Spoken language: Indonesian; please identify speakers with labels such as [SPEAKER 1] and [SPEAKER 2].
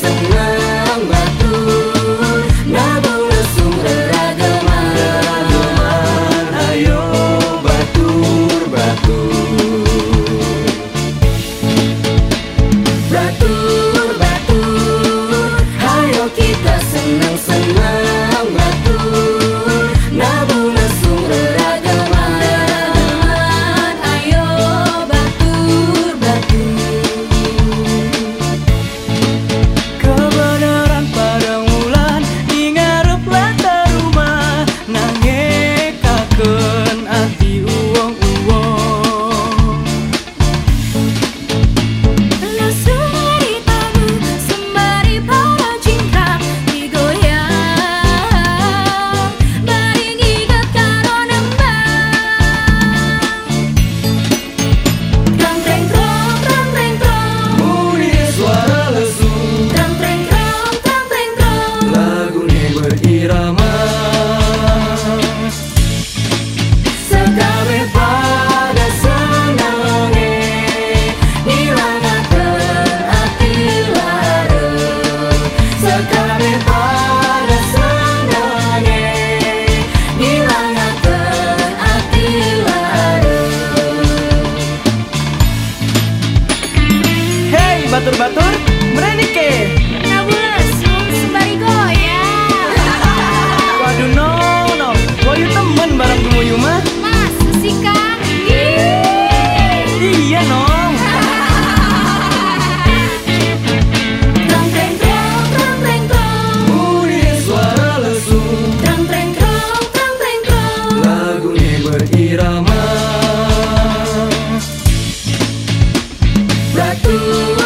[SPEAKER 1] senang-senang batur, nabung lesung reragaman. Ayo batur, batur, batur, batur. Ayo kita senang-senang batur, nabung lesung reragaman. Ayo batur, batur.
[SPEAKER 2] Kebenaran pada wulan ingarep latar rumah nangekakeun ati uwong-uwong.
[SPEAKER 1] Lesung di tabu sembari para cingkrang digoyang, baring ikat karo nembang. Trong treng trong
[SPEAKER 2] Muni suara lesung
[SPEAKER 1] trong treng trong
[SPEAKER 2] lagune berirama.
[SPEAKER 1] Sekabeh pada senenge nilangakeun ati lareuh. Sekabeh pada senenge nilangakeun ati lareuh.
[SPEAKER 2] Hey batur-batur, merenike.
[SPEAKER 1] Nabung lesung sembari goyang.
[SPEAKER 2] Waduh no, goyu temen bareng gemuyu mah.
[SPEAKER 1] Masa sih Kang?
[SPEAKER 2] Iya nong.
[SPEAKER 1] Trong treng trong
[SPEAKER 2] Muni suara lesung
[SPEAKER 1] trong treng
[SPEAKER 2] lagune berirama.
[SPEAKER 1] batur.